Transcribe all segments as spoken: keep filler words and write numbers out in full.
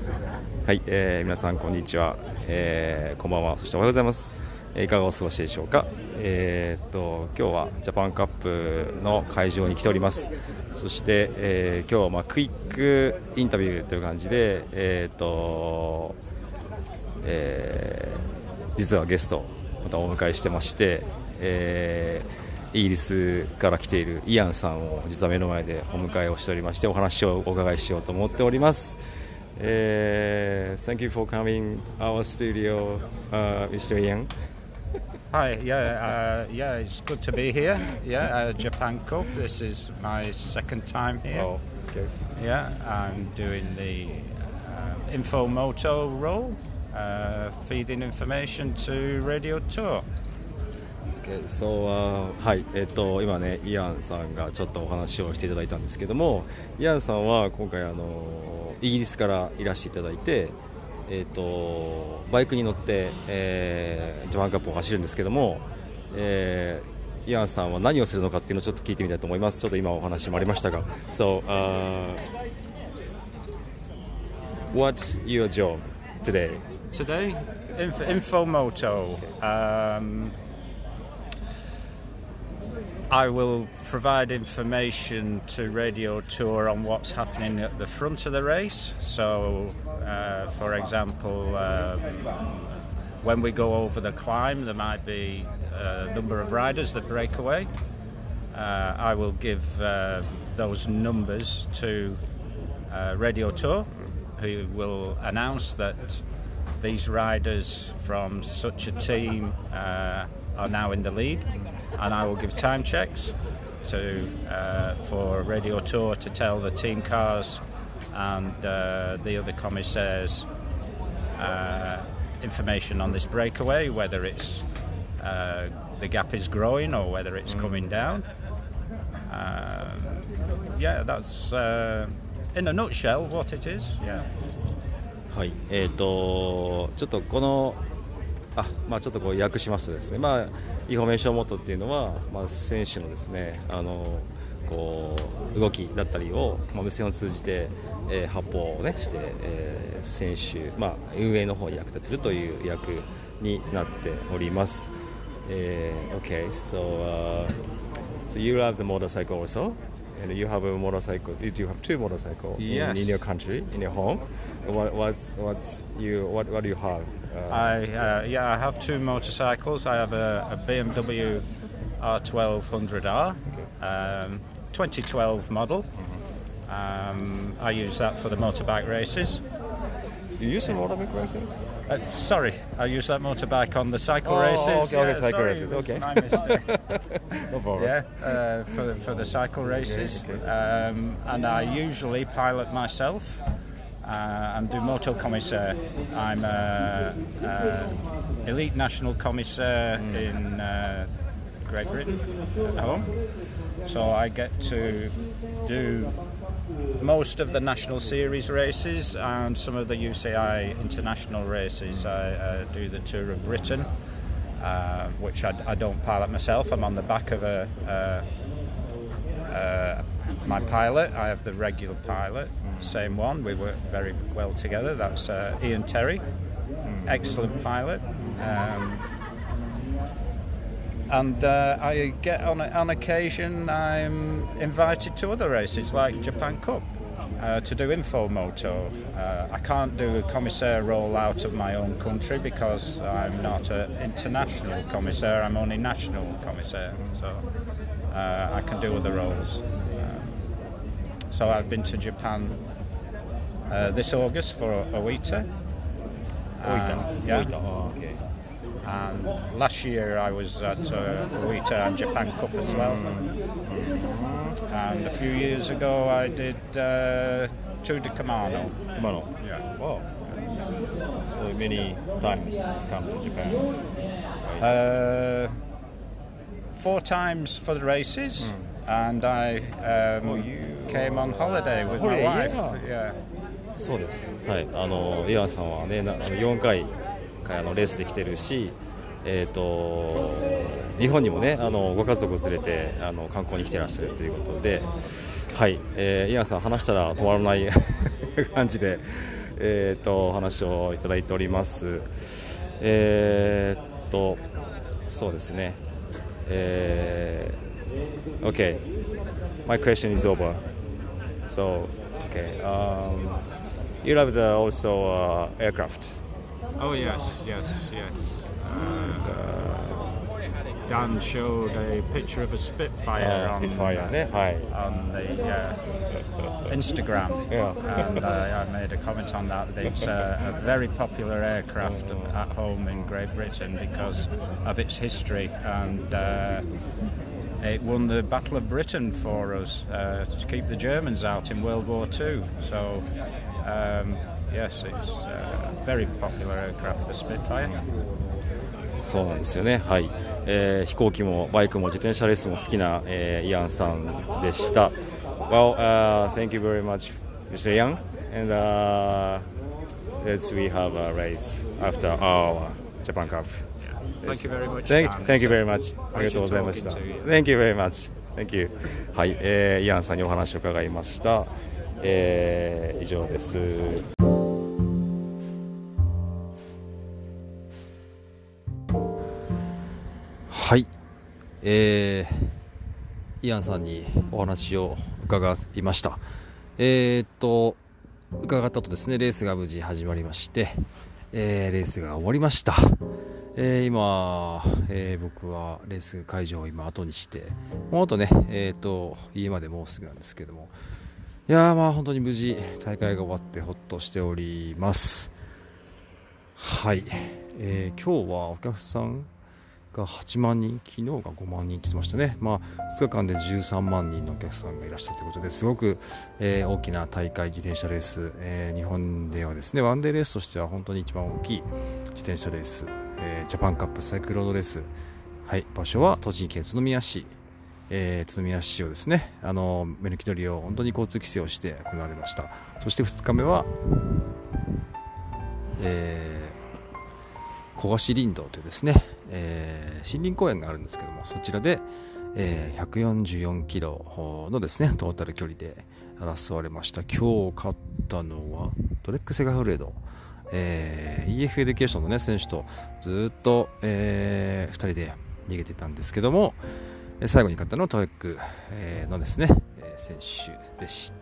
はい、えー、皆さんこんにちは、えー、こんばんは、そしておはようございます。えー、いかがお過ごしでしょうか。えー、っと今日はジャパンカップの会場に来ております。そして、えー、今日はまあクイックインタビューという感じで、えー、っと、えー、実はゲストまたお迎えしてまして、えー、イギリスから来ているイアンさんを実は目の前でお迎えをしておりまして、お話をお伺いしようと思っております。Uh, thank you for coming our studio, uh, Mister Yang. Hi, yeah, uh, yeah, it's good to be here. Yeah, uh, Japan Cup. This is my second time here. Oh, okay. Yeah, I'm doing the uh, Infomoto role, uh, feeding information to Radio Tour. Okay, so, uh, はい、えっと今ねイアンさんがちょっとお話をしていただいたんですけども、イアンさんは今回あのイギリスからいらしていただいて、えっとバイクに乗って、えー、ジャパンカップを走るんですけども、えー、イアンさんは何をするのかっていうのをちょっと聞いてみたいと思います。ちょっと今お話もありましたが、So, uh, what's your job today? Today, Inf- Infomoto. Um, I will provide information to Radio Tour on what's happening at the front of the race. So, uh, for example, um, when we go over the climb, there might be a number of riders that break away. Uh, I will give uh, those numbers to uh, Radio Tour, who will announce that these riders from such a team uh, are now in the lead, and I will give time checks to uh, for Radio Tour to tell the team cars and uh, the other commissaires uh, information on this breakaway, whether it's uh, the gap is growing or whether it's coming down. Um, yeah, that's uh, in a nutshell what it is. Yeah. はい、えーとちょっとこのあまあ、ちょっとこう訳しますとですね、まあ、インフォメーションモットっていうのは、まあ、選手のですねあのこう動きだったりを、まあ、無線を通じて、えー、発報を、ね、して、えー、選手、まあ、運営の方に役立てるという役になっております。えー、OK, so, uh, so you love the motorcycle also? And you have a motorcycle. You do have two motorcycles Yes. in, in your country, in your home. What, what's what's you? What what do you have? Uh, I uh, yeah, I have two motorcycles. I have a, a B M W R twelve hundred R, um, twenty twelve model. Um, I use that for the motorbike races. you use a motorbike races? Uh, sorry, I use that motorbike on the cycle Oh, races. okay, okay, Yeah, cycle sorry, races, it was okay. my mistake. No problem. Yeah, uh, for for the cycle races, okay. um, and I usually pilot myself uh, and do moto commissaire. I'm a, a elite national commissaire Mm. in uh, Great Britain at home, so I get to do most of the national series races and some of the U C I international races. I uh, do the Tour of Britain, uh, which I, I don't pilot myself. I'm on the back of a, uh, uh, my pilot. I have the regular pilot, same one. We work very well together. That's uh, Ian Terry, excellent pilot. Um, And uh, I get on on occasion I'm invited to other races like Japan Cup uh, to do Infomoto. Uh, I can't do a commissaire role out of my own country because I'm not an international commissaire. I'm only national commissaire, so uh, I can do other roles. Um, so I've been to Japan uh, this August for Oita. Oita. Um, yeah. Oita. Oh, okay. And last year I was at uh, Oita and Japan Cup as well. And a few years ago I did uh, Tour de Camano. Camano. Yeah. Wow. So many times it's come to Japan. Right. Uh, four times for the races, and I um, Oh, you- came on holiday with my Holiday, wife. yeah. Yeah. そうです。はい。あのイアンさんはね、なあのよんかいあのレースで来てるし、えっ、と日本にもねあのご家族を連れてあの観光に来てらっしゃるということで、はい。えー、イアンさん話したら止まらない感じで、 えー、とお話をいただいております。えー、っとそうですね。えー、OK, my question is over. So, okay, um, you love the also uh, aircraft. Oh yes, yes, yes. Uh, Dan showed a picture of a Spitfire Uh, on, Spitfire ね、はい。 on the uh, Instagram, Yeah. and uh, I made a comment on that. It's uh, a very popular aircraft at home in Great Britain because of its history, and uh, it won the Battle of Britain for us uh, to keep the Germans out in World War Two. So, um, yes, it's a very popular aircraft, the Spitfire. そうなんですよね、はいえー、飛行機もバイクも自転車レースも好きな、えー、イアンさんでした。Well, uh, thank you very much, Mister Yang, and uh, let's we have a race after our Japan Cup. Thank you very much. Thank, Dan. thank you very much. ありがとうございました。Thank you very much. Thank you. はい、えー、イアンさんにお話を伺いました。えー、以上です。はい、えー、イアンさんにお話を伺いました。えー、っと伺ったとですね、レースが無事始まりまして、えー、レースが終わりました。えー、今、えー、僕はレース会場を今後にして、もうあとね、えー、っと家までもうすぐなんですけども、いやーまあ本当に無事大会が終わってほっとしております。はい、えー、今日はお客さんがはちまんにん、昨日がごまんにんって言ってましたね。まあ、ふつかかんでじゅうさんまんにんのお客さんがいらっしゃったということですごく、えー、大きな大会、自転車レース、えー、日本ではですねワンデーレースとしては本当に一番大きい自転車レース、えー、ジャパンカップサイクルロードレース、はい、場所は栃木県宇都宮市、えー、宇都宮市をですね、あの目抜き取りを本当に交通規制をして行われました。そしてふつかめは、えー小菓子林道というですね、えー、森林公園があるんですけども、そちらで、えー、ひゃくよんじゅうよんキロのですねトータル距離で争われました。今日勝ったのはトレックセガフレード、えー、イーエフ エデュケーションの、ね、選手とずっと、えー、ふたりで逃げていたんですけども、最後に勝ったのはトレック、えー、のですね、えー、選手でした。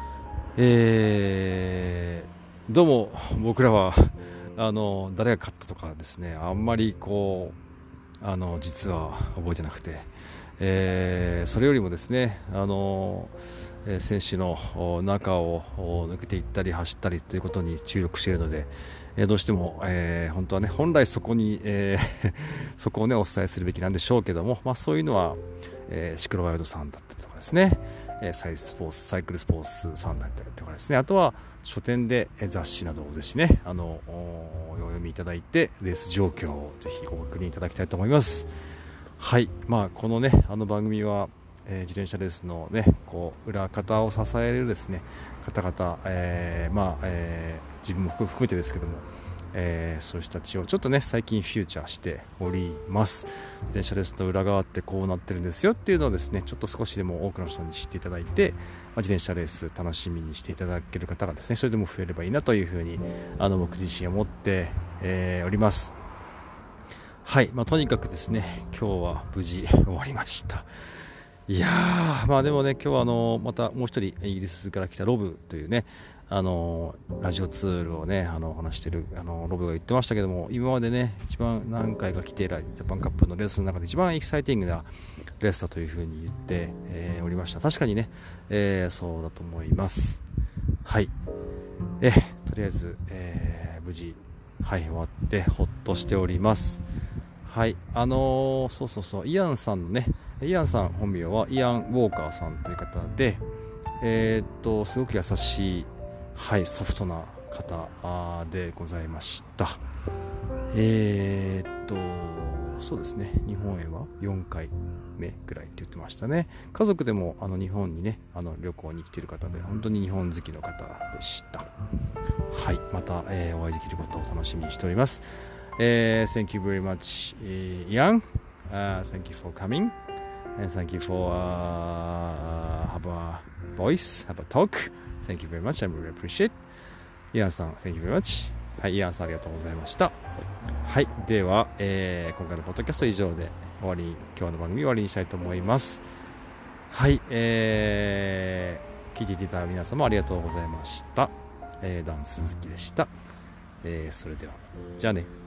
えー、どうも僕らはあの誰が勝ったとかですね、あんまりこうあの実は覚えてなくて、えー、それよりもですね、あの選手の中を抜けていったり走ったりということに注力しているので、えー、どうしても、えー、本当はね本来そこに、えー、そこをねお伝えするべきなんでしょうけども、まあ、そういうのは、えー、シクロワイルドさんだったりとかですね、えー、サイスポーツサイクルスポーツさんだったりとかですね、あとは書店で雑誌などをぜひねあのお読みいただいてレース状況をぜひご確認いただきたいと思います。はい、まあ、このねあの番組は、えー、自転車レースのねこう裏方を支えるですね方々、えーまあえー、自分も含めてですけども、えー、そういう人たちをちょっとね最近フューチャーしております。自転車レースの裏側ってこうなってるんですよっていうのをですねちょっと少しでも多くの人に知っていただいて、まあ、自転車レース楽しみにしていただける方がですねそれでも増えればいいなというふうにあの僕自身思って、えー、おります。はい、まあ、とにかくですね今日は無事終わりました。いやー、まあでもね今日はあのまたもう一人イギリスから来たロブというねあのラジオツールをねあの話してるあのロブが言ってましたけども、今までね一番何回か来ているジャパンカップのレースの中で一番エキサイティングなレースだというふうに言って、えー、おりました。確かにね、えー、そうだと思います。はい、えとりあえず、えー、無事はい終わってほっとしております。はい、あのー、そうそうそうイアンさんのねイアンさん本名はイアン・ウォーカーさんという方で、えー、っとすごく優しい、はい、ソフトな方でございました。えー、っとそうですね日本へはよんかいめぐらいって言ってましたね。家族でもあの日本にねあの旅行に来ている方で本当に日本好きの方でした。はい、また、えー、お会いできることを楽しみにしております。Uh, thank you very much, uh, Ian. Uh, thank you for coming, and thank you for uh, have a voice, have a talk. Thank you very much. I really appreciate. イアンさん Thank you very much。 はい、イアンさんありがとうございました。はい、では、えー、今回のポッドキャスト以上で終わり、今日の番組終わりにしたいと思います。はい、えー、聞いていただいた皆様ありがとうございました。えー、ダン鈴木でした。えー、それではじゃあね。